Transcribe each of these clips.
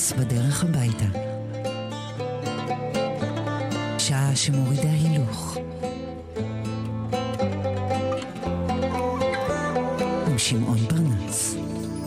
פרנס בדרך הביתה. שעה שמורידה הילוך. עם שמעון פרנס.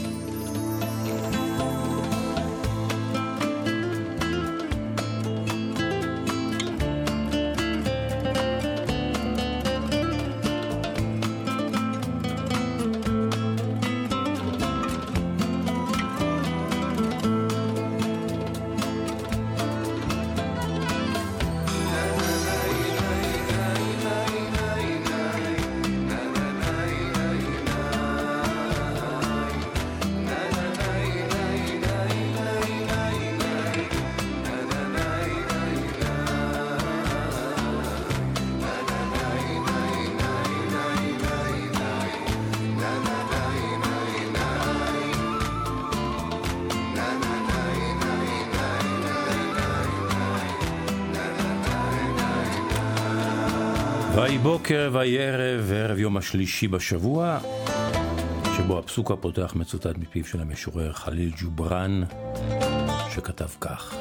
ויהי בוקר ויהי ערב, וערב יום השלישי בשבוע, שבו הפסוק הפותח מצוטט מפיו של המשורר חליל ג'ובראן, שכתב כך: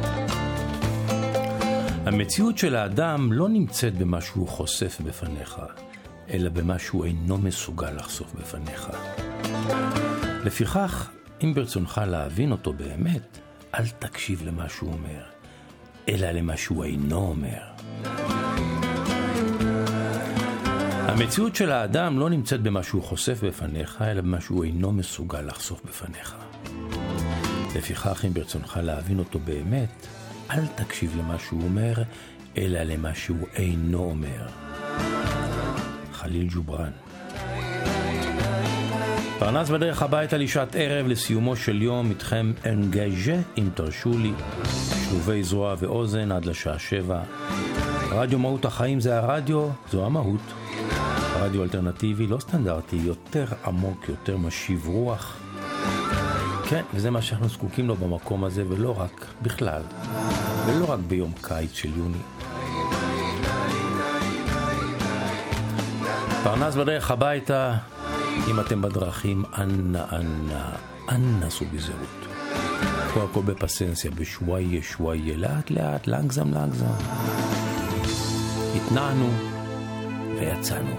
המציאות של האדם לא נמצאת במה שהוא חושף בפניך, אלא במה שהוא אינו מסוגל לחשוף בפניך. לפיכך, אם ברצונך להבין אותו באמת, אל תקשיב למה שהוא אומר, אלא למה שהוא אינו אומר. המציאות של האדם לא נמצאת במה שהוא חושף בפניך, אלא במה שהוא אינו מסוגל לחשוף בפניך. לפיכך, אם ברצונך להבין אותו באמת, אל תקשיב למה שהוא אומר, אלא למה שהוא אינו אומר. חליל ג'ובראן. פרנס בדרך הביתה לשעת ערב, לסיומו של יום, איתכם אנגאז'ה, אם תרשו לי, שלובי זרוע ואוזן עד לשעה 7. רדיו מהות החיים זה הרדיו, זו המהות. רדיו אלטרנטיבי, לא סטנדרטי, יותר עמוק, יותר משיב רוח. כן, וזה מה שאנחנו זקוקים לו במקום הזה, ולא רק בכלל, ולא רק ביום קיץ של יוני. פרנס בדרך הביתה, אם אתם בדרכים, אנא סעו בזהירות. פה הכל בפסנסיה, בשוואיה, שוואיה, לאט לאט, לנגזם. התנענו ויצאנו.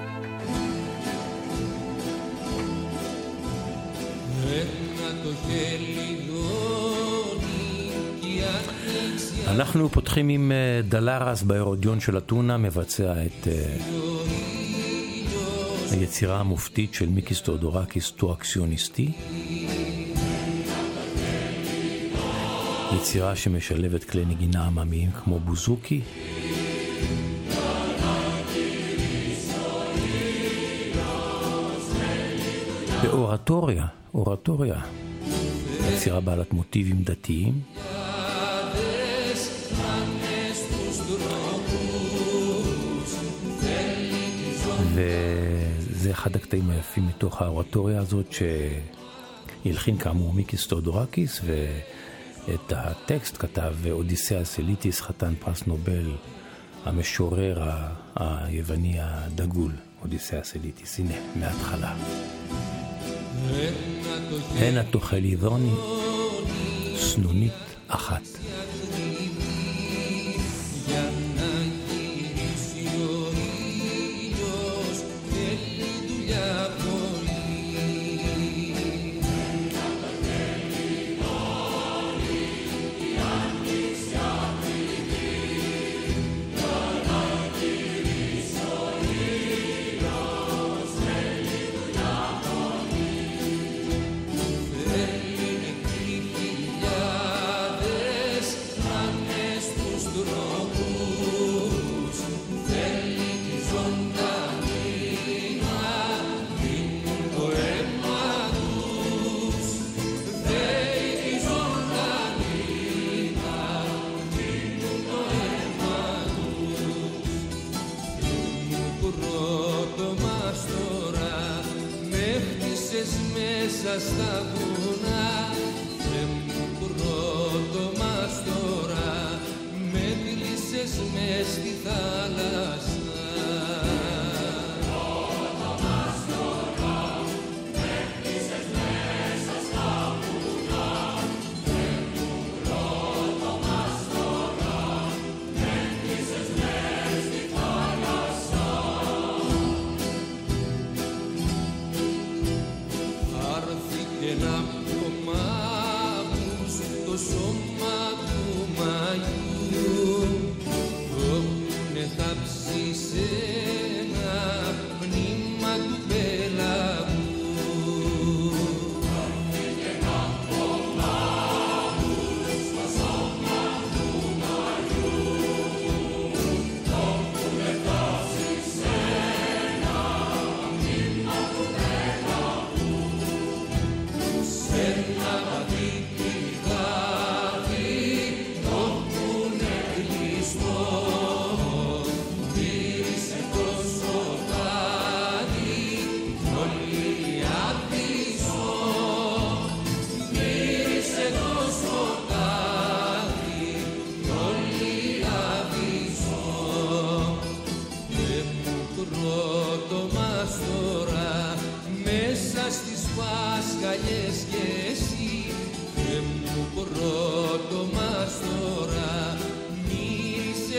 אנחנו פותחים עם דלרס בהרודיון של אתונה, מבצע את היצירה המופתית של מיקיס תאודורקיס, טו אקסיוניסטי, יצירה שמשלבת כלי נגינה עממיים כמו בוזוקי ואורטוריה, יצירה בעלת מוטיבים דתיים, וזה אחד הקטעים היפים מתוך האורטוריה הזאת, שהלחין כאמור מיקיס תאודורקיס, ואת הטקסט כתב אודיסאוס אליטיס, חתן פרס נובל, המשורר היווני הדגול, אודיסאוס אליטיס. הנה, מההתחלה. הנה תאכלי דוני, סנונית אחת. Στα βουνά πρώτο μας τώρα με κλείσες μες στη θάλασσα. Πρώτο μας τώρα με κλείσες μέσα στα βουνά.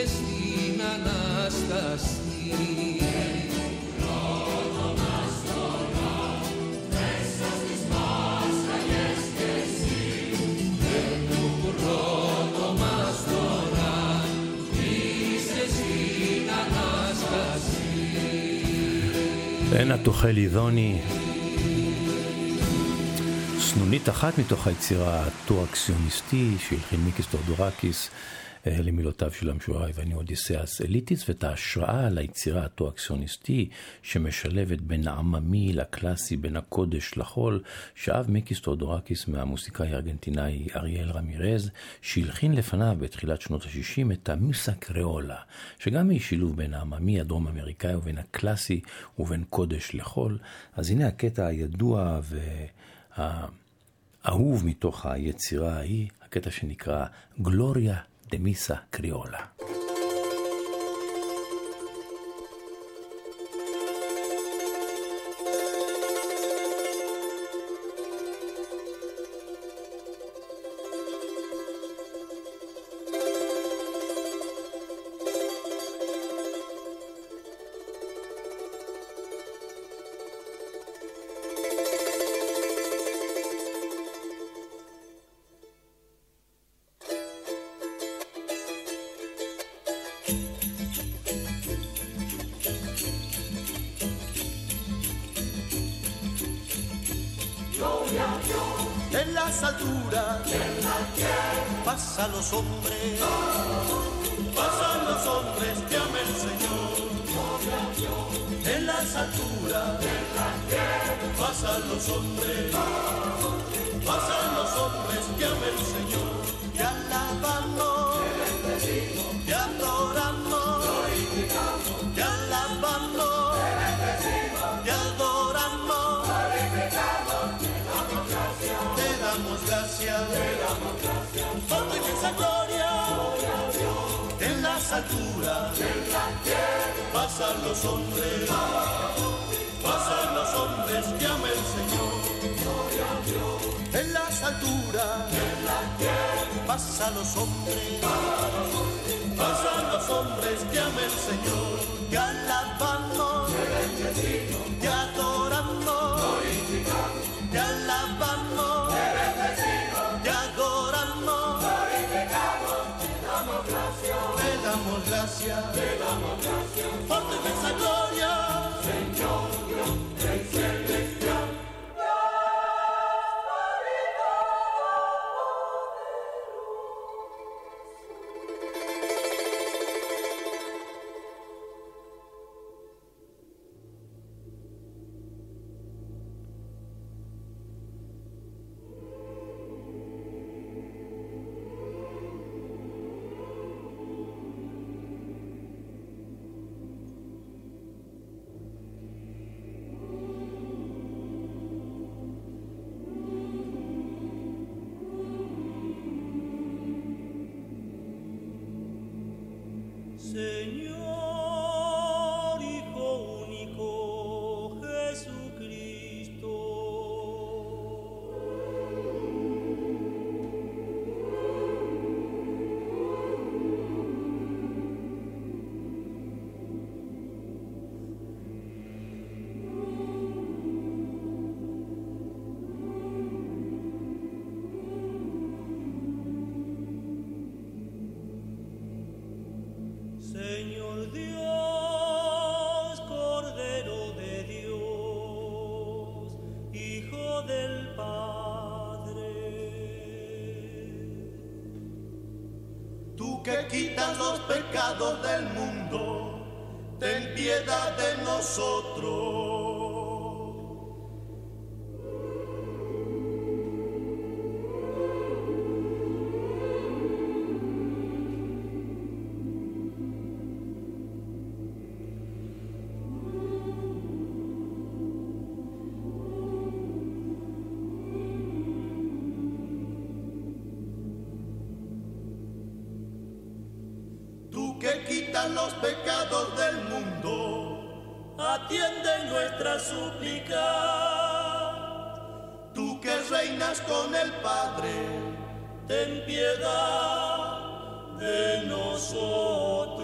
στην Ανάσταση. אין התוכל אידוני, סנונית אחת מתוך היצירה הטואקסיוניסטי שהלחין מיקיס תאודורקיס למילותיו של המשורר היווני אודיסיאס אליטיס, ואת ההשראה ליצירה הטואקסיוניסטי שמשלבת בין העממי לקלאסי, בין הקודש לחול, שאב מיקיס תאודורקיס מהמוסיקאי הארגנטינאי אריאל רמירז, שהלחין לפניו בתחילת שנות ה-60 את המוסה קריאולה, שגם היא שילוב בין העממי הדרום אמריקאי ובין הקלאסי ובין קודש לחול. אז הנה הקטע הידוע והאהוב מתוך היצירה ההיא, הקטע שנקרא גלוריה de misa criolla. En las alturas pasan los hombres, pasan los hombres que ama el Señor. En las alturas pasan los hombres, pasan los hombres que ama el Señor. Te alabamos, te adoramos, te alabamos, te adoramos. Gracias, por tu inmensa gloria, en las alturas, pasan los hombres que ama el Señor. En las alturas, pasan los hombres que ama el Señor. Te alabamos, te adoramos, te alabamos. Gracias, por tu inmensa gloria, Señor Rey celestial. Señor, Hijo único, Jesucristo. Señor Dios, Cordero de Dios, Hijo del Padre. Tú que quitas los pecados del mundo, ten piedad de nosotros. Que quitan los pecados del mundo, atiende nuestra súplica. Tú que reinas con el Padre, ten piedad de nosotros.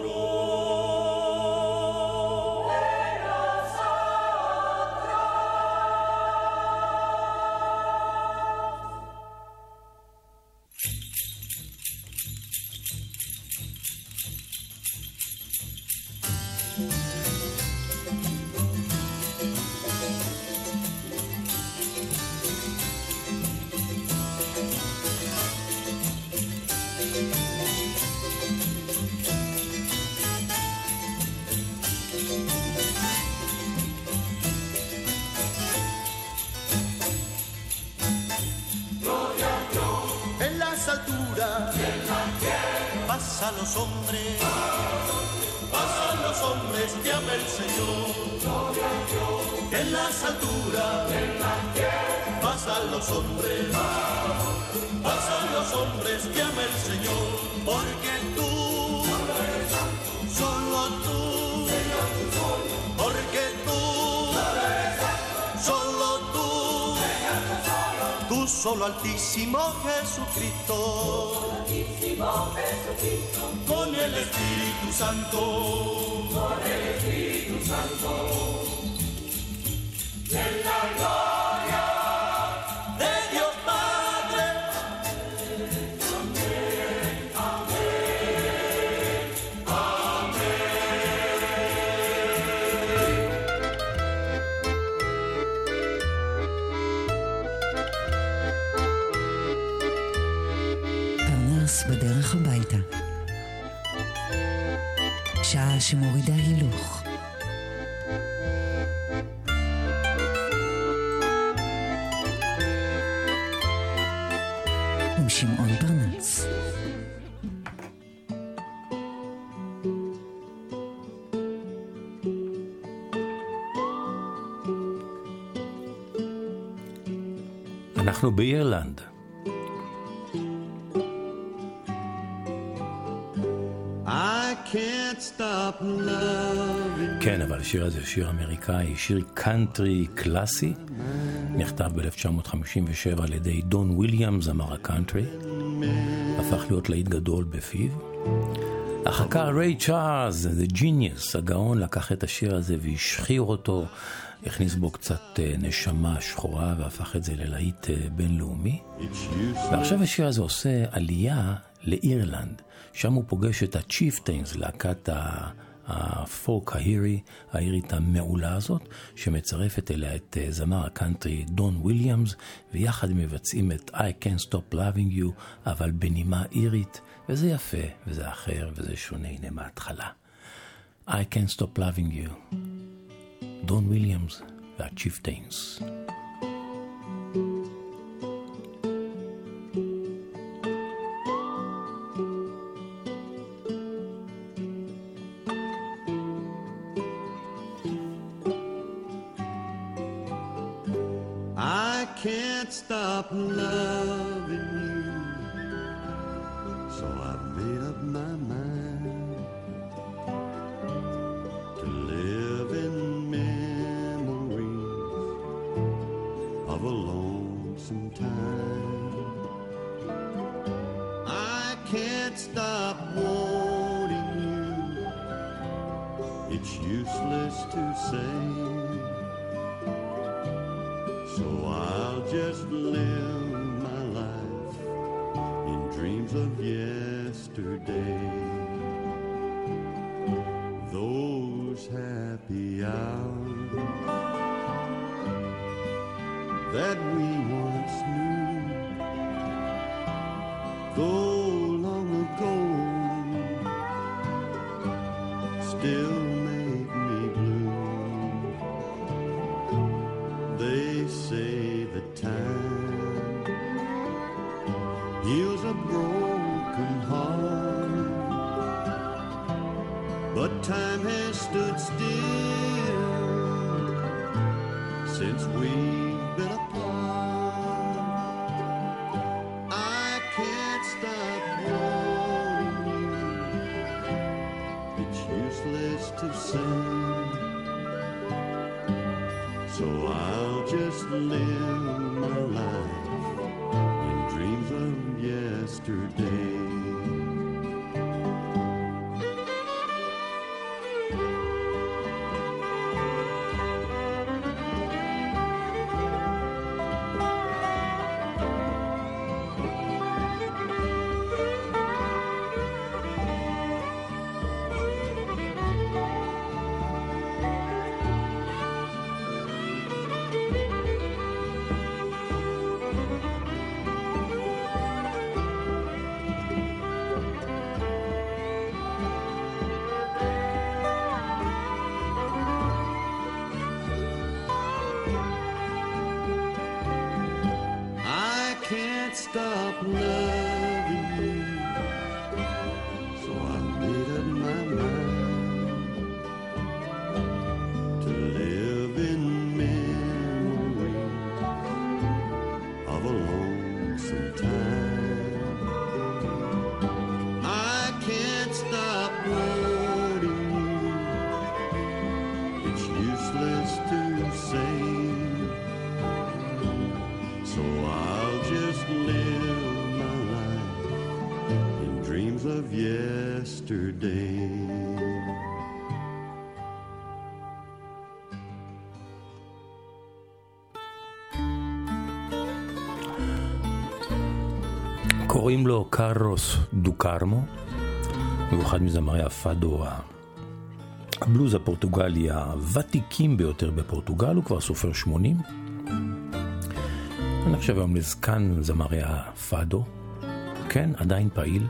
paz a los hombres, paz a los hombres que ama el Señor. En las alturas, paz a los hombres, paz a los hombres que ama el Señor. Porque tú, solo tú, porque tú, solo tú, tú solo Altísimo Jesucristo, con el Espíritu Santo, en la gloria de Dios Padre. Amén, amén, פרנס בדרך הביתה. שעה שמורידה הילוך. עם שמעון פרנס. אנחנו באירלנד. כן, אבל השיר הזה שיר אמריקאי, שיר קאנטרי קלאסי, נכתב ב-1957 על ידי דון וויליאמס, זמר הקאנטרי, הפך להיות להיט גדול בפיו. אחר כך ריי צ'ארלס, The Genius, הגאון, לקח את השיר הזה והשחיר אותו, הכניס בו קצת נשמה שחורה והפך את זה ללהיט בינלאומי. ועכשיו השיר הזה עושה עלייה לאירלנד, שם הוא פוגש את הצ'יפטיינס, להקת הפולק האירית המעולה הזאת, שמצרפת אליה את זמר הקאנטרי דון וויליאמס, ויחד הם מבצעים את I Can't Stop Loving You, אבל בנימה אירית, וזה יפה, וזה אחר, וזה שונה, הנה מההתחלה. I Can't Stop Loving You, דון וויליאמס והצ'יפטיינס. Stop loving you, so I've made up my mind to live in memories of a lonesome time. I can't stop wanting you, it's useless to say, so I'll just live my life in dreams of yesterday. Those happy hours that we once knew, though long ago, still make me blue. They say that time heals a broken heart, but time has stood still since we've been apart. I can't stop wanting you, it's useless to say, so I'll just live my life in dreams of yesterday. Stop loving you, yesterday. קוראים לו קרלוס דוקרמו, הוא אחד מזמרי הפאדו, הבלוז הפורטוגלי הוותיקים ביותר בפורטוגל, הוא כבר סופר 80. אני חושב היום לזקן זמרי הפאדו, כן, עדיין פעיל.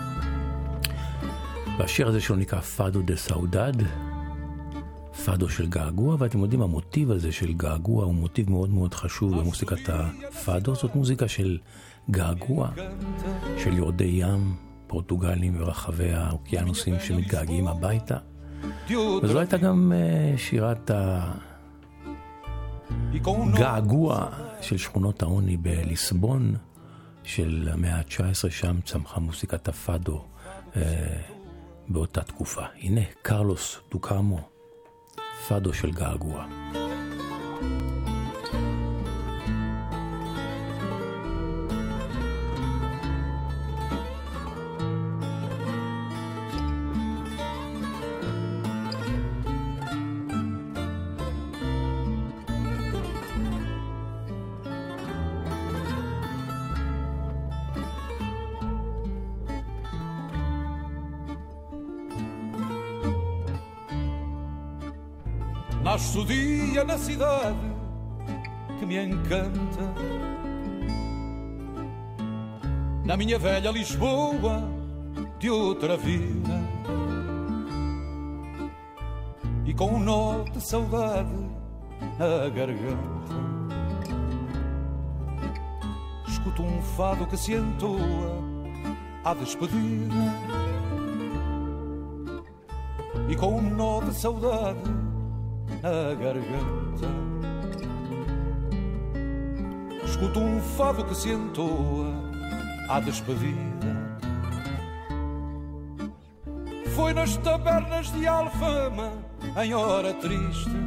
והשיר הזה שלו נקרא פאדו דה סאודד, פאדו של געגוע, ואתם יודעים, המוטיב הזה של געגוע הוא מוטיב מאוד מאוד חשוב במוסיקת הפאדו. זאת מוזיקה של געגוע, של יורדי ים פורטוגלים ברחבי האוקיינוסים שמתגעגעים הביתה. וזו הייתה גם שירת הגעגוע של שכונות העוני בליסבון של המאה ה-19, שם צמחה מוסיקת הפאדו באותה תקופה. הנה קרלוס דוקרמו, פאדו של געגוע. Nasce o dia na cidade que me encanta, na minha velha Lisboa de outra vida, e com um nó de saudade na garganta escuto um fado que se entoa à despedida, e com um nó de saudade na garganta escuto um fado que se entoa à despedida. Foi nas tabernas de Alfama, em hora triste,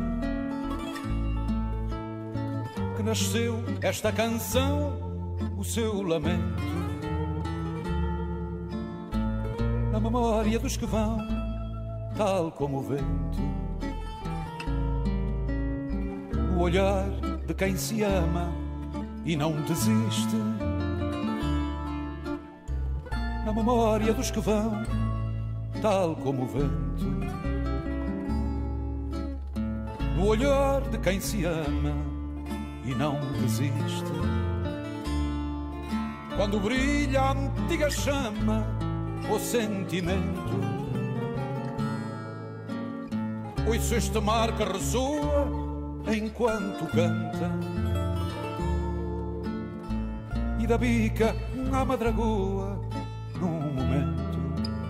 que nasceu esta canção, o seu lamento, na memória dos que vão, tal como o vento, o olhar de quem se ama e não desiste, na memória dos que vão, tal como o vento, no olhar de quem se ama e não desiste. Quando brilha a antiga chama, o sentimento, ouço este mar que ressoa enquanto canta, e da bica à madragoa num momento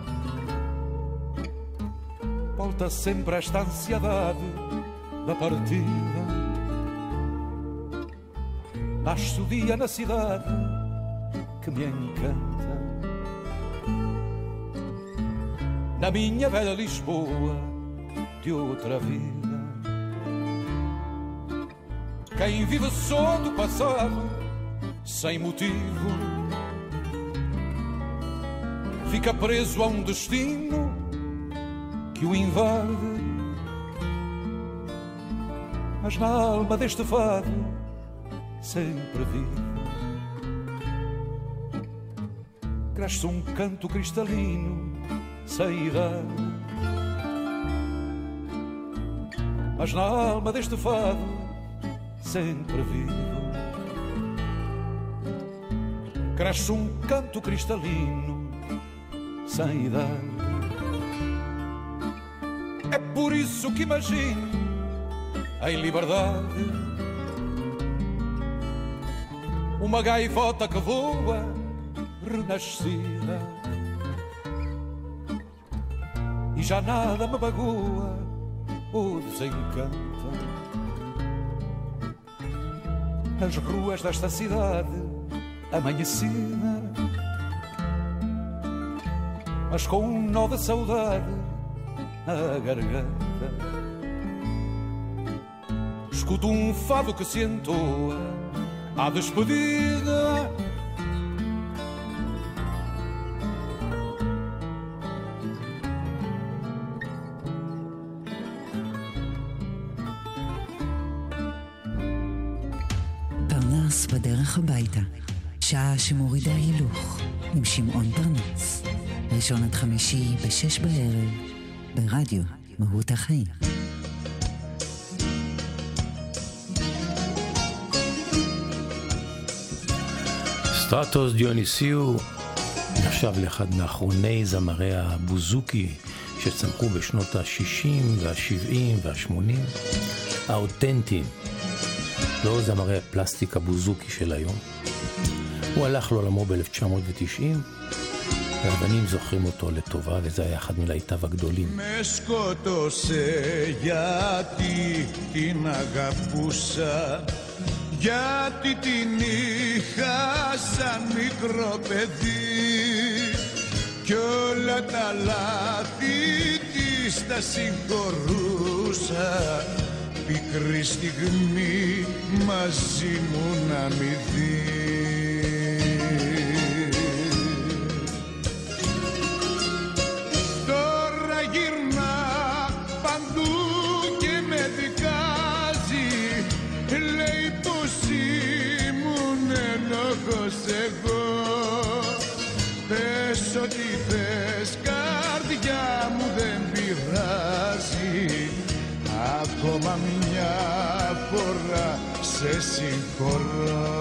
volta sempre esta ansiedade da partida. Nasce o dia na cidade que me encanta, na minha velha Lisboa de outra vida. Quem vive só do passado, sem motivo, fica preso a um destino que o invade. Mas na alma deste fado, sempre vivo, cresce um canto cristalino, sem idade. Mas na alma deste fado, sempre vivo, cresce um canto cristalino, sem idade. É por isso que imagino, em liberdade, uma gaivota que voa, renascida, e já nada me magoa ou desencanta. As ruas desta cidade amanhecida, mas com um nó de saudade na garganta, escuto um fado que se entoa à despedida. פרנס בדרך הביתה. שעה שמורידה הילוך עם שמעון פרנס. ראשון עד חמישי ב-6 בערב ברדיו מהות החיים. סטרטוס דיוניסיו נחשב לאחד מאחרוני זמרי הבוזוקי שצמחו בשנות ה-60 וה-70 וה-80, האותנטיים, לא זמרי הפלסטיק הבוזוקי של היום. הוא הלך לעולמו ב-1990, והבנים זוכרים אותו לטובה, וזה היה אחד מלהיטיו הגדולים. Με σκότωσε γιατί την αγαπούσα, γιατί την είχα σαν μικρό παιδί κι όλα τα λάθη της τα συγχωρούσα, πικρή στιγμή μαζί μου να μη δει. Τώρα γυρνά παντού και με δικάζει, λέει πως ήμουν ενόχος εγώ. Πες ό,τι θες καρδιά μου δεν πειράζει, ακόμα μια φορά σε συγχωρώ.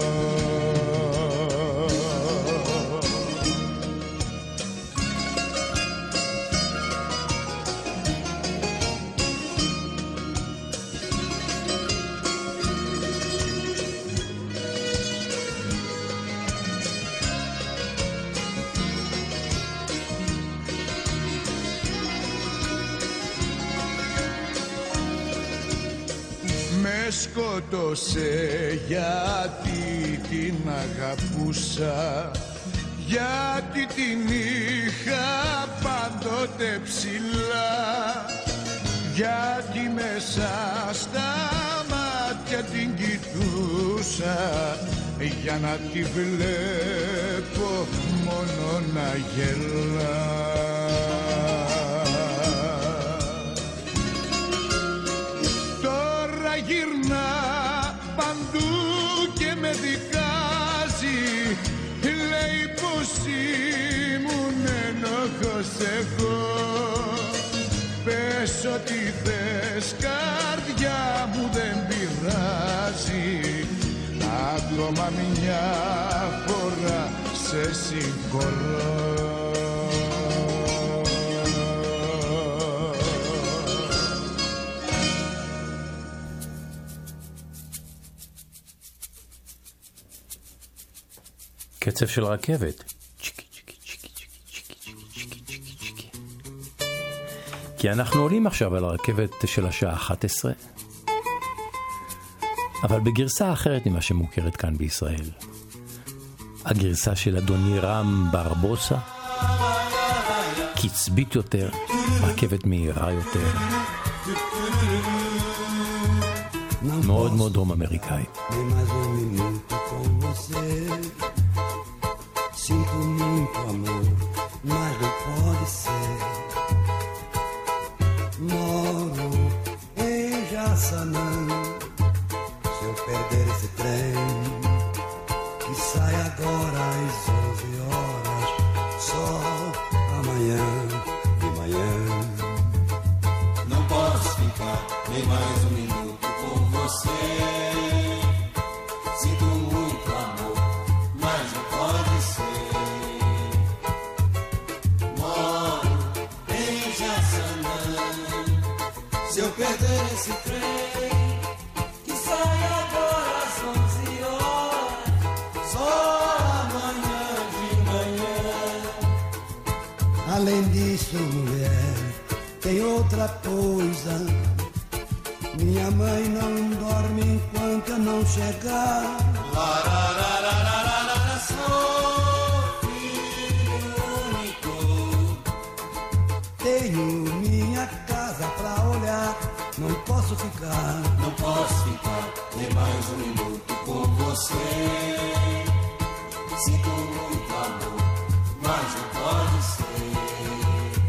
Με σκότωσε γιατί την αγαπούσα, γιατί την είχα πάντοτε ψηλά, γιατί μέσα στα μάτια την κοιτούσα, για να τη βλέπω μόνο να γελά. Γυρνά παντού και με δικάζει, λέει πως ήμουν ενόχος εγώ. Πες ό,τι θες καρδιά μου δεν πειράζει, ακόμα μια φορά σε συγχωρώ. קצב של רכבת. כי אנחנו עולים עכשיו על הרכבת של השעה 11, אבל בגרסה אחרת ממה שמוכרת כאן בישראל. הגרסה של אדוני רם ברבוסה, קצבית יותר, רכבת מהירה יותר, מאוד מאוד דרום אמריקאית. Sinto muito amor, mas não pode ser. Moro em Jaçanã. Se eu perder esse trem, que sai agora às 11 horas, só amanhã de manhã. Não posso ficar nem mais um minuto com você. Sinto muito amor, mas não pode ser. Se eu perder esse trem, que sai agora às 11 horas, só amanhã de manhã. Além disso, mulher, tem outra coisa. Minha mãe não dorme enquanto eu não chegar. Sou filho único. Tenho minha casa pra olhar, não posso ficar. Não posso ficar nem mais um minuto com você. Sinto muito amor, mas não pode ser.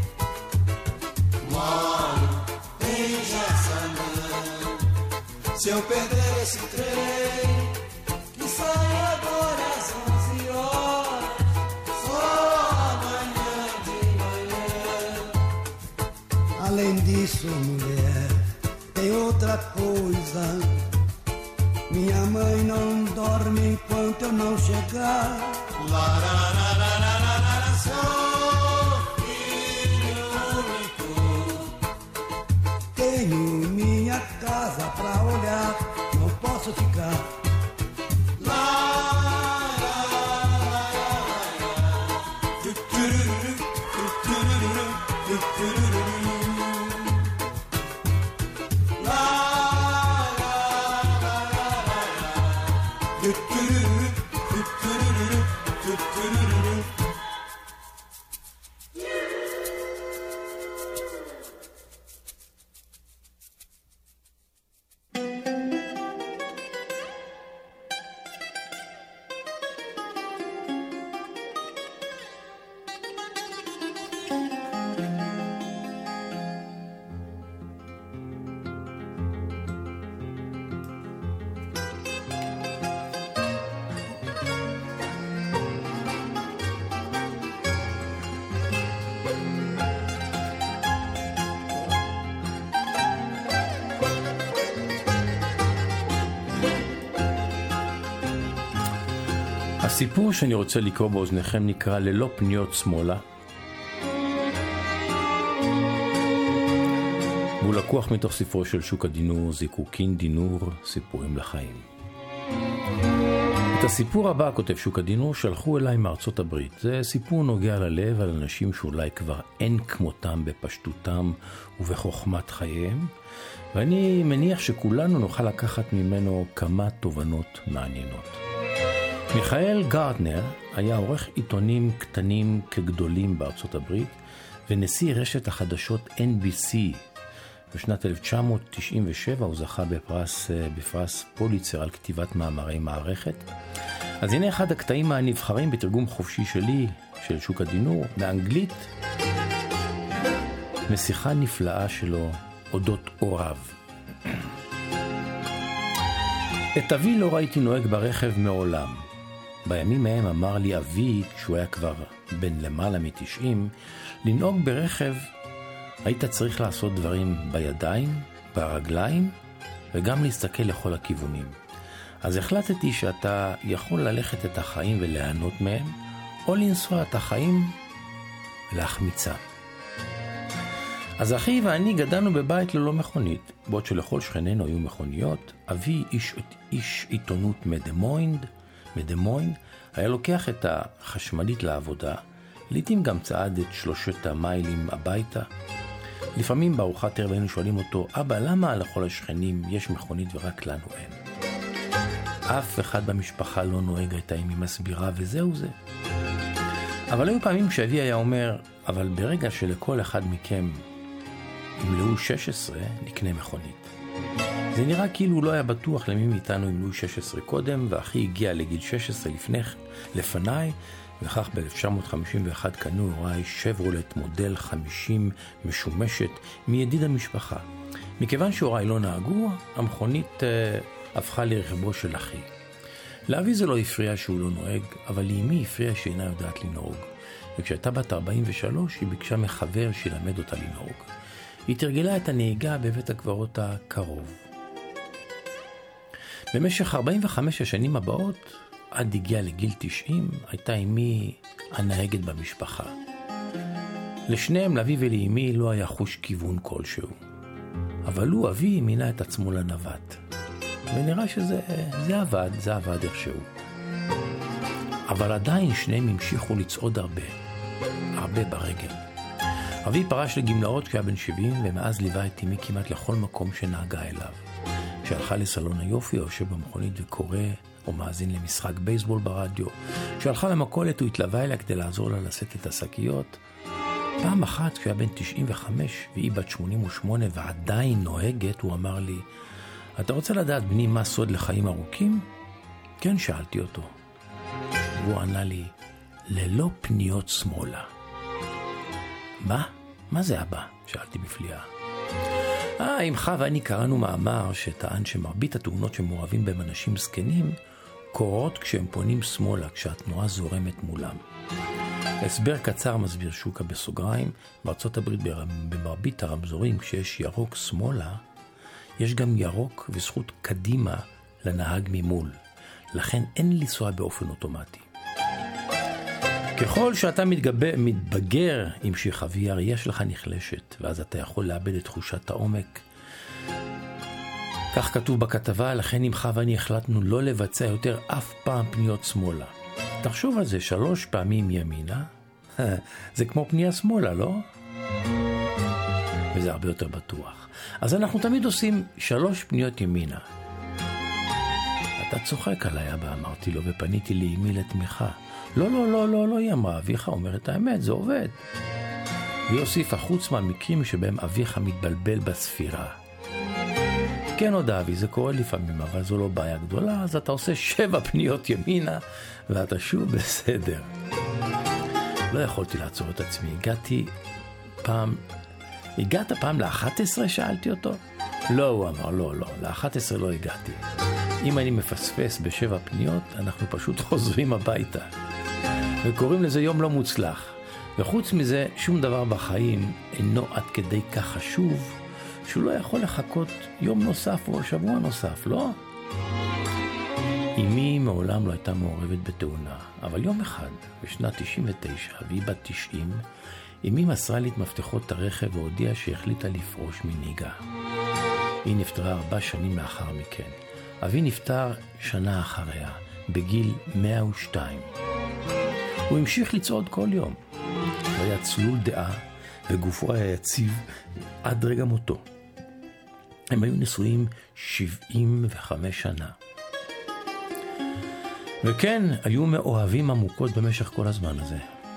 Moro em Jaçanã. Se eu perder esse trem, Além disso, mulher, tem outra coisa. Minha mãe não dorme enquanto eu não chegar. Sou filho único. Tenho minha casa pra olhar, não posso ficar. הסיפור שאני רוצה לקרוא באוזניכם נקרא ללא פניות שמאלה. והוא לקוח מתוך ספרו של שוקה דינור, זיקוקין דינור, סיפורים לחיים. את הסיפור הבא, כותב שוקה דינור, שלחו אליי מארצות הברית. זה סיפור נוגע ללב על אנשים שאולי כבר אין כמותם בפשטותם ובחוכמת חייהם, ואני מניח שכולנו נוכל לקחת ממנו כמה תובנות מעניינות. מיכאל גרטנר היה עורך עיתונים קטנים כגדולים בארצות הברית, ונשיא רשת החדשות NBC. בשנת 1997 הוא זכה בפרס פוליצר על כתיבת מאמרי מערכת. אז הנה אחד הקטעים הנבחרים בתרגום חופשי שלי, של שוקה דינור, מאנגלית, משיחה נפלאה שלו אודות הוריו. את אבי לא ראיתי נוהג ברכב מעולם. בימים מהם אמר לי אבי, כשהוא היה כבר בן למעלה מ-90, לנהוג ברכב היית צריך לעשות דברים בידיים, ברגליים, וגם להסתכל לכל הכיוונים. אז החלטתי שאתה יכול ללכת את החיים וליהנות מהם, או לנסוע את החיים ולהחמיצם. אז אחי ואני גדלנו בבית ללא מכונית, בעוד שלכל שכנינו היו מכוניות. אבי, איש עיתונות מדמוין, היה לוקח את החשמלית לעבודה, לעתים גם צעד את 3 המיילים הביתה. לפעמים בארוחת ערב היינו שואלים אותו, אבא, למה לכל השכנים יש מכונית ורק לנו אין? אף אחד במשפחה לא נוהג, הייתה אמי מסבירה, וזהו זה. אבל היו פעמים שאבי היה אומר, אבל ברגע שלכל אחד מכם ימלאו 16, נקנה מכונית. זה נראה כאילו הוא לא היה בטוח למי מאיתנו ימלאו 16 קודם, ואחי הגיע לגיל 16 לפניי, וכך ב-1951 קנו הוריי שברולט מודל 50 משומשת מידיד המשפחה. מכיוון שהוריי לא נהגו, המכונית הפכה לרכבו של אחי. לאבי זה לא הפריע שהוא לא נוהג, אבל לאמי הפריע שאינה יודעת לנהוג. וכשהייתה בת 43 היא ביקשה מחבר שילמד אותה לנהוג. היא תרגלה את הנהיגה בבית הקברות הקרוב. במשך 45 השנים הבאות, עד הגיע לגיל 90, הייתה אמי הנהגת במשפחה. לשניהם, לאבי ולאמי, לא היה חוש כיוון כלשהו. אבל הוא, אבי, מינה את עצמו לנווט. ונראה שזה עבד איכשהו. אבל עדיין שניהם המשיכו לצעוד הרבה ברגל. אבי פרש לגמלאות כשהיה בן 70, ומאז ליווה את אמי כמעט לכל מקום שנהגה אליו. כשהלכה לסלון היופי, יושב במכונית וקורא או מאזין למשחק בייסבול ברדיו. כשהלכה למכולת, הוא התלווה אליה כדי לעזור לה לשאת את השקיות. פעם אחת, כשהיה בן 95 והיא בת 88 ועדיין נוהגת, הוא אמר לי, אתה רוצה לדעת בני מה סוד לחיים ארוכים? כן, שאלתי אותו. והוא ענה לי, ללא פניות שמאלה. מה זה אבא? שאלתי בפליאה. אמך ואני קראנו מאמר שטען שמרבית התאונות שמעורבים בהם אנשים זקנים קורות כשהם פונים שמאלה, כשהתנועה זורמת מולם. הסבר קצר מסביר שוקה בסוגריים, בארצות הברית במרבית הרמזורים, כשיש ירוק שמאלה, יש גם ירוק וזכות קדימה לנהג ממול. לכן אין לנסוע באופן אוטומטי. ככל שאתה מתבגר עם שחווי, הראייה שלך נחלשת, ואז אתה יכול לאבד את תחושת העומק. כך כתוב בכתבה, לכן עמך ואני החלטנו לא לבצע יותר אף פעם פניות שמאלה. תחשוב על זה 3 פעמים ימינה, זה כמו פנייה שמאלה, לא? וזה הרבה יותר בטוח. אז אנחנו תמיד עושים 3 פניות ימינה. אתה צוחק עליי, אבא, אמרתי לו, ופניתי לאמי לתמיכה. לא, היא אמרה, אביך אומר את האמת, זה עובד. והיא הוסיפה, חוץ מהמקרים שבהם אביך מתבלבל בספירה. כן עוד אבי, זה קורה לפעמים, אבל זו לא בעיה גדולה, אז אתה עושה 7 פניות ימינה, ואתה שוב בסדר. לא יכולתי לעצור את עצמי, הגעת פעם ל-11? שאלתי אותו. לא, הוא אמר, לא, ל-11 לא הגעתי. אם אני מפספס ב7 פניות, אנחנו פשוט חוזרים הביתה. וקוראים לזה יום לא מוצלח. וחוץ מזה, שום דבר בחיים אינו עד כדי כך חשוב, שהוא לא יכול לחכות יום נוסף או שבוע נוסף, לא? אמי מעולם לא הייתה מעורבת בתאונה, אבל יום אחד, בשנת 99, והיא בת 90, אמי מסרה לי את מפתחות הרכב והודיעה שהחליטה לפרוש מנהיגה. היא נפטרה 4 שנים לאחר מכן. אבי נפטר שנה אחריה, בגיל 102. הוא המשיך לצעוד כל יום. הוא היה צלול דעה, וגופו היה יציב עד רגע מותו. הם היו נשואים 75 שנה. וכן, היו מאוהבים עמוקות במשך כל הזמן הזה.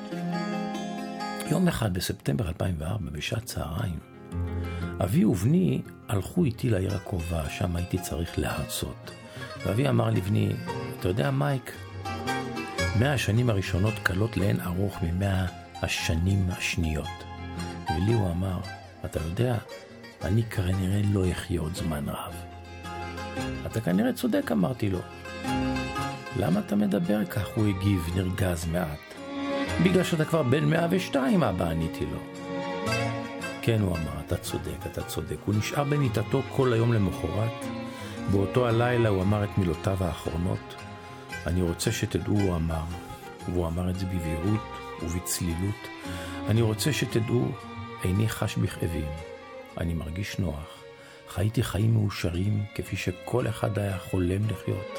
יום אחד בספטמבר 2004, בשעת צהריים, אבי ובני הלכו איתי לעיר הקרובה, שם הייתי צריך להרצות. ואבי אמר לבני, אתה יודע מייק, 100 השנים הראשונות קלות לאין ארוך מ100 השנים השניות. ולי הוא אמר, אתה יודע, אני כנראה לא אחיה עוד זמן רב. אתה כנראה צודק, אמרתי לו. למה אתה מדבר כך? הוא הגיב נרגז מעט. בגלל שאתה כבר בן 102, אבא, עניתי לו. כן, הוא אמר, אתה צודק. הוא נשאר במיטתו כל היום למחרת. באותו הלילה הוא אמר את מילותיו האחרונות. אני רוצה שתדעו, הוא אמר, והוא אמר את זה בבהירות ובצלילות. אני רוצה שתדעו, איני חש בכאבים. אני מרגיש נוח. חייתי חיים מאושרים כפי שכל אחד היה חולם לחיות.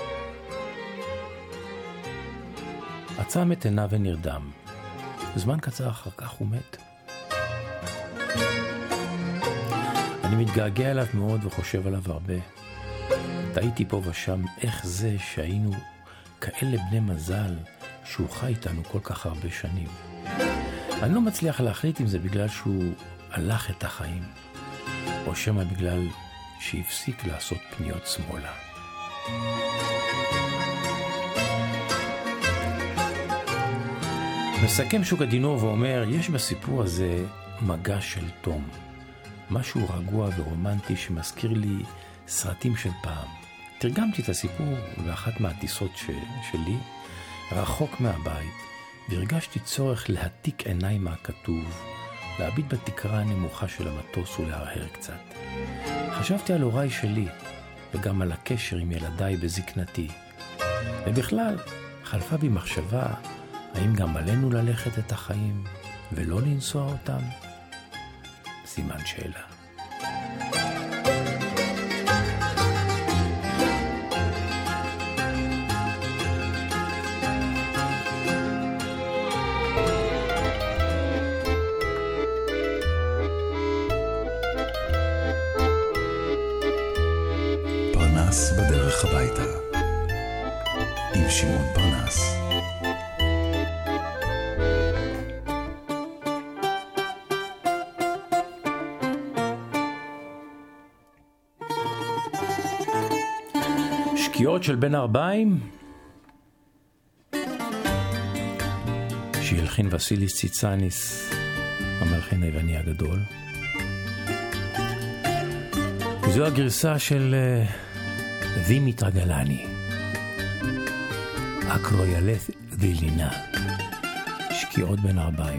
עצם את עיניו ונרדם. זמן קצר אחר כך הוא מת. אני מתגעגע אליו מאוד וחושב עליו הרבה. טעיתי פה ושם איך זה שהיינו כאלה בני מזל שהוא חי איתנו כל כך הרבה שנים. אני לא מצליח להחליט אם זה בגלל שהוא הלך את החיים, או שמה בגלל שהפסיק לעשות פניות שמאלה. מסכם שוקה דינור ואומר, יש בסיפור הזה מגע של תום. משהו רגוע ורומנטי שמזכיר לי סרטים של פעם. תרגמתי את הסיפור באחת מהטיסות שלי, רחוק מהבית, והרגשתי צורך להתיק עיניים מהכתוב, להביט בתקרה הנמוכה של המטוס ולהרהר קצת. חשבתי על הוריי שלי, וגם על הקשר עם ילדיי בזקנתי. ובכלל, חלפה בי מחשבה, האם גם עלינו ללכת את החיים ולא לנסוע אותם? סימן שאלה. פרנס בדרך הביתה עם שמעון פרנס. שקיעות של בין ארבעים שהלחין וסיליס ציצאניס, המלחין היווני הגדול. זו הגרסה של דימיטרה גלני. אקרויאלת דילינה, שקיעות בין הערביים.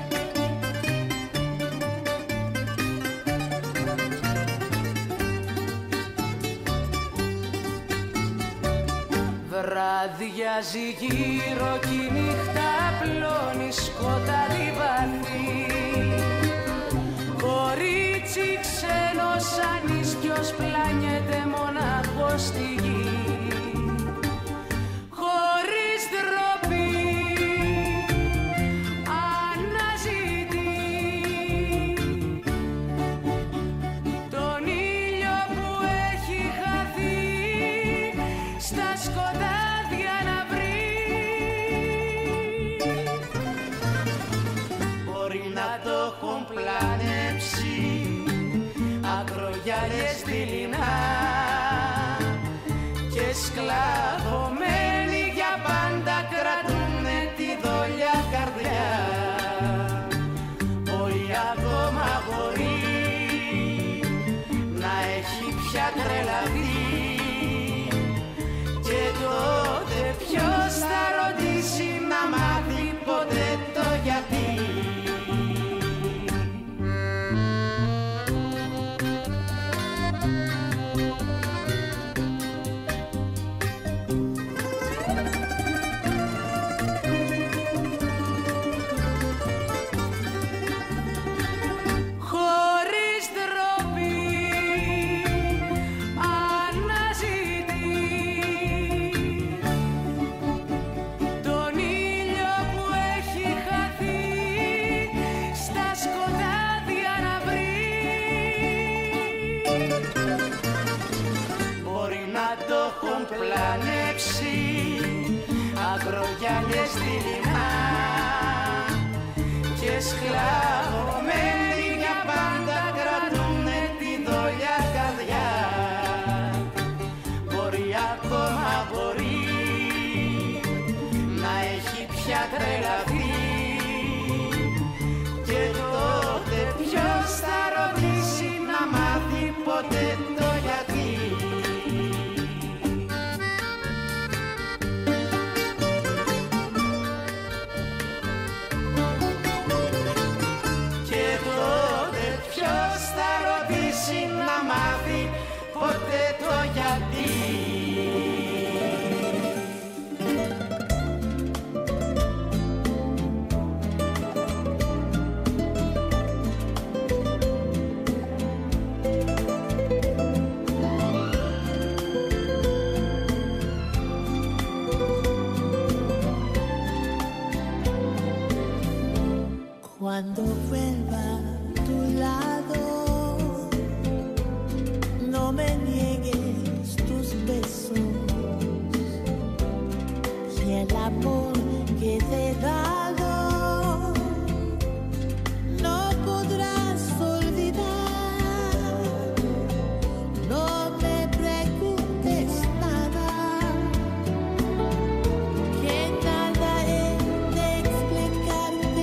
Βραδιάζει γύρω κι η νύχτα πλώνει σκοτάδι βαθύ. Κορίτσι ξένος ανίσκιος πλάνιεται μονάχος στη γη. Χωρίς ντροπή αναζητεί τον ήλιο που έχει χαθεί στα σκοτάδια να βρει. Μπορεί να το έχουν πλανέψει ακρογιάλες δειλινά και σκλαβωμένοι για πάντα κρατούνε τη δόλια καρδιά. Μπορεί ακόμα μπορεί να έχει πια τρελαθεί και τότε ποιος θα ρωτήσει να μάθει ποτέ το γιατί. Πλανέψει ακρογιάλες δειλινά και σκλαβωμένοι για πάντα κρατούνε τη δόλια καρδιά. Μπορεί ακόμα μπορεί να έχει πια τρελαθεί και τότε ποιος θα ρωτήσει να μάθει ποτέ το γιατί. Να μάθει ποτέ το γιατί. Cuando vuelva a tu lado, no me niegues tus besos y el amor que te he dado no podrás olvidar. No me preguntes nada, que nada he de explicarte.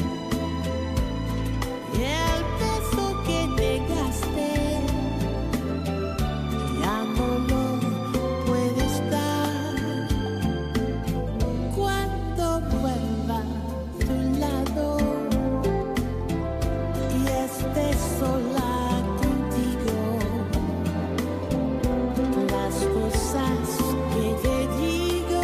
El beso que negaste ya no lo puedes dar. Cuando vuelva a tu lado y esté sola contigo, las cosas que te digo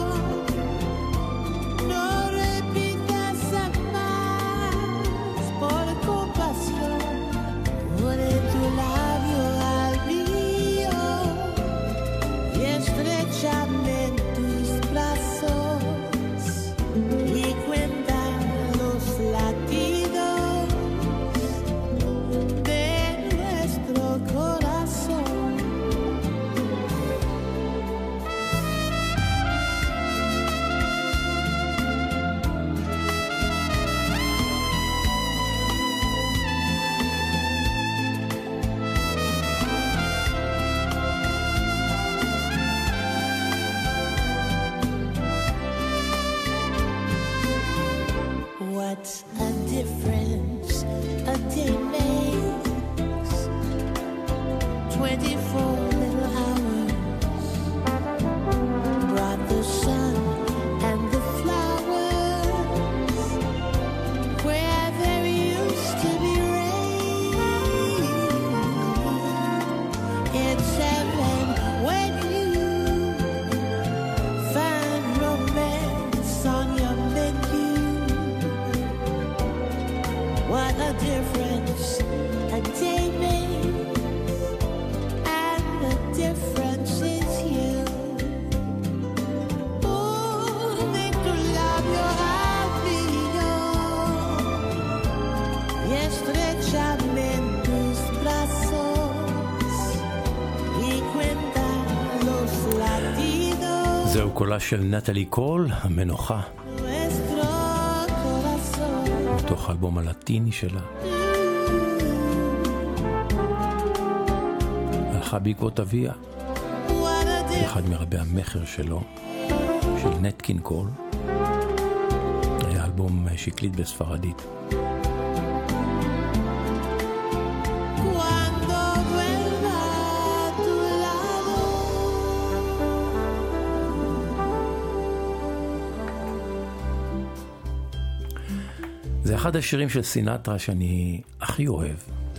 no repitas jamás. Por compasión, pone tu labio al mío y estrechame en tus brazos y cuenta los latidos de nuestro corazón. What a difference a day makes. 24 little hours brought the sun קולה של נטלי קול, המנוחה, מתוך האלבום הלטיני שלה. הלכה בעקבות אביה, אחד מרבי המחר שלו, של נטקין קול. היה אלבום שקלית בספרדית. זה אחד השירים של סינטרה שאני הכי אוהב,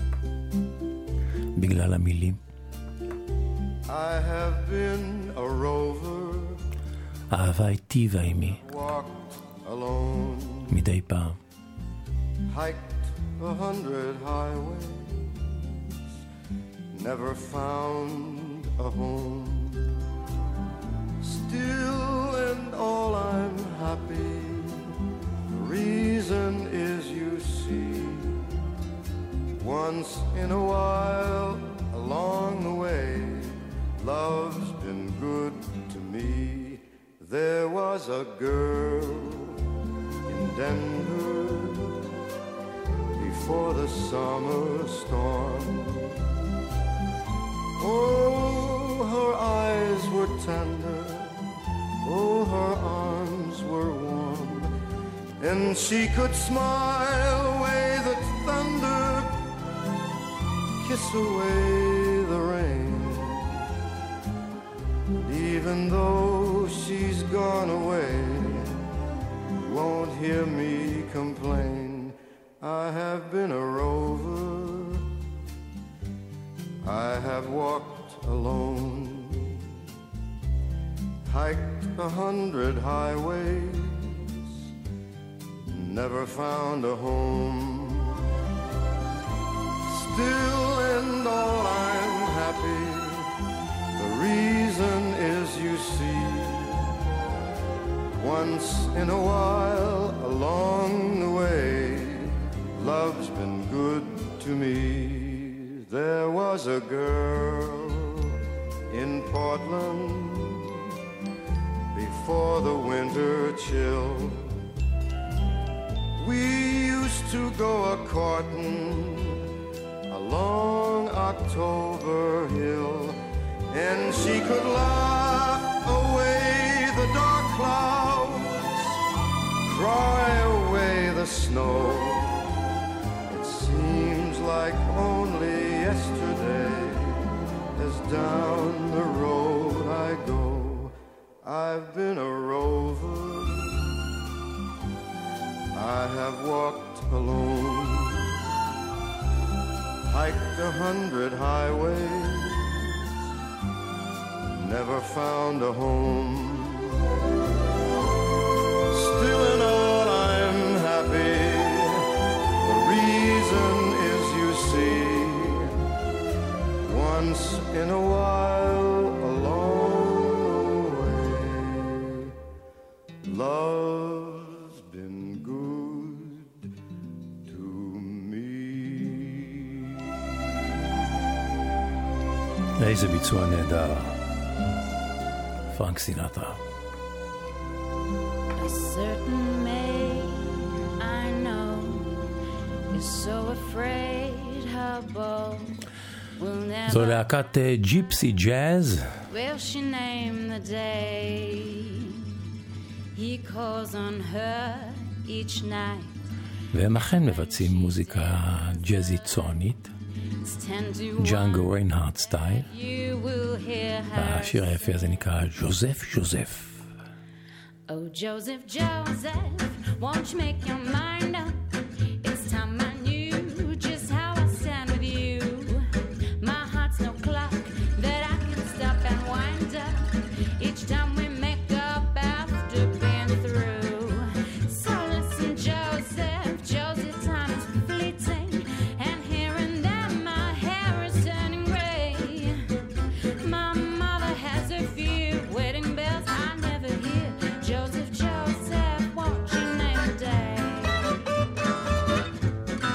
בגלל המילים. I have been a rover, אהבה היטיבה עימי, walked alone, מדי פעם. hiked 100 highways, never found a home. Still and all I'm happy. The reason is you see, once in a while along the way, love's been good to me. There was a girl in Denver before the summer storm. Oh, her eyes were tender, oh, her arms were warm, and she could smile away the thunder, kiss away the rain. Even though she's gone away, you won't hear me complain. I have been a rover, I have walked alone, hiked 100 highways, never found a home. Still and all I'm happy. The reason is you see, once in a while along the way, love's been good to me. There was a girl in Portland before the winter chill. We used to go a-courtin' along October Hill, and she could laugh away the dark clouds, cry away the snow. It seems like only yesterday, as down the road I go. I've been a rover, I have walked alone, hiked 100 highways, never found a home. Still and all I'm happy. The reason is you see, once in a while along the way, love's been good to me. איזה ביצוע נהדר. פרנק סינטרה. A certain maid I know is so afraid her beau will never. זו להקת ג'יפסי ג'אז. Will she name the day he calls on her each night? והם אכן מבצעים מוזיקה ג'אזית צוענית. ג'אנגו ריינהארט סטייל. השיר היפה הזה נקרא ג'וזף ג'וזף. Oh Joseph, Joseph, won't you make your mind up? It's time I knew just how I stand with you. My heart's no clock that I can stop and wind up each time we make up after being through. So listen Joseph, Joseph, time is fleeting, and here and there my hair is turning gray. My mother has a few wedding bells I never hear. Joseph, Joseph, won't you name a day?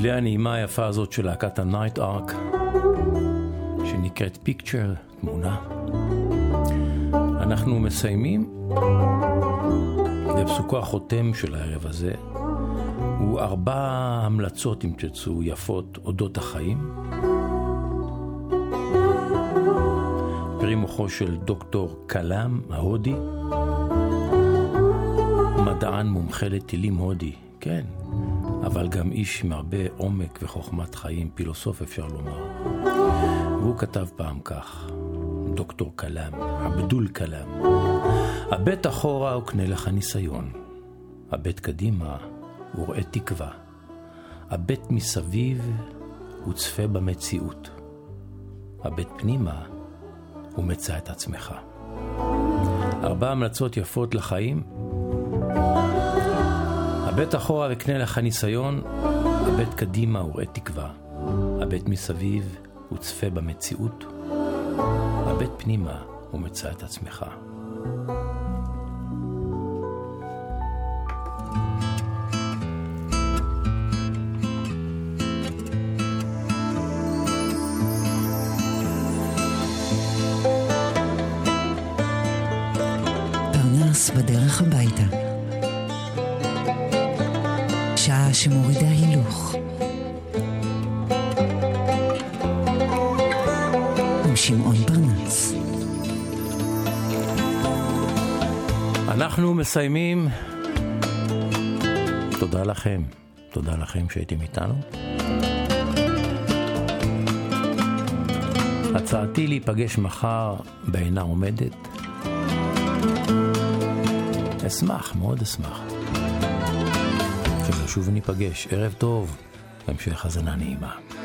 בצלילי הנעימה היפה הזאת של להקת הנייט ארק, שנקראת פיקצ'ר, תמונה. אנחנו מסיימים, ופסוקו החותם של הערב הזה הוא 4 המלצות, אם תרצו, יפות אודות החיים. פרי מוחו של דוקטור קלאם ההודי, מדען מומחה לטילים הודי, כן, אבל גם איש עם הרבה עומק וחוכמת חיים, פילוסוף אפשר לומר. והוא כתב פעם כך, דוקטור קלאם, עבדול קלאם: הבט אחורה וקנה לך ניסיון, הבט קדימה וראה תקווה, הבט מסביב וצפה במציאות, הבט פנימה ומצא את עצמך. 4 המלצות יפות לחיים. הבט אחורה וקנה לך ניסיון, הבט קדימה וראה תקווה, הבט מסביב וצפה במציאות, הבט פנימה ומצא את עצמך. פרנס בדרך הביתה, שעה שמורידה הילוך, עם שמעון פרנס. אנחנו מסיימים. תודה לכם, תודה לכם שהייתם איתנו. הצעתי להיפגש מחר בעינה עומדת. אשמח, מאוד אשמח שנשוב וניפגש. ערב טוב, המשך האזנה נעימה.